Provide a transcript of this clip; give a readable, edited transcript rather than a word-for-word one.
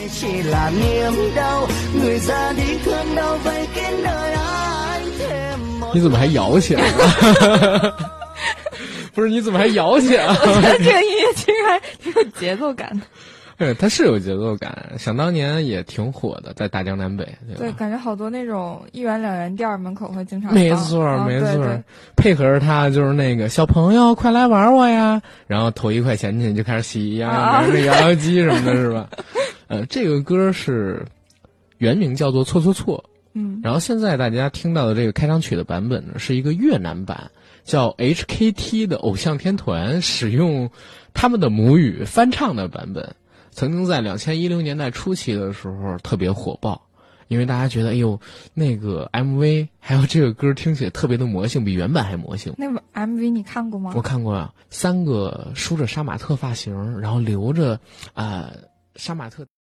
你怎么还摇起来了？不是，你怎么还摇起来了？ 我觉得这个音乐其实还挺有节奏感的。 对，它是有节奏感，想当年也挺火的，在大江南北，对吧？ 对，感觉好多那种1元2元店门口会经常放。 没错，没错。 对对， 配合着它就是那个小朋友快来玩我呀，然后投1块钱进去就开始洗呀，那个摇摇机什么的，是吧？这个歌是原名叫做错错错，然后现在大家听到的这个开场曲的版本呢，是一个越南版，叫 HKT 的偶像天团使用他们的母语翻唱的版本。曾经在2010年代初期的时候特别火爆，因为大家觉得，哎呦，那个 MV 还有这个歌听起来特别的魔性，比原版还魔性。 那个 MV 你看过吗？ 我看过啊，3个梳着杀马特发型，然后留着杀马特。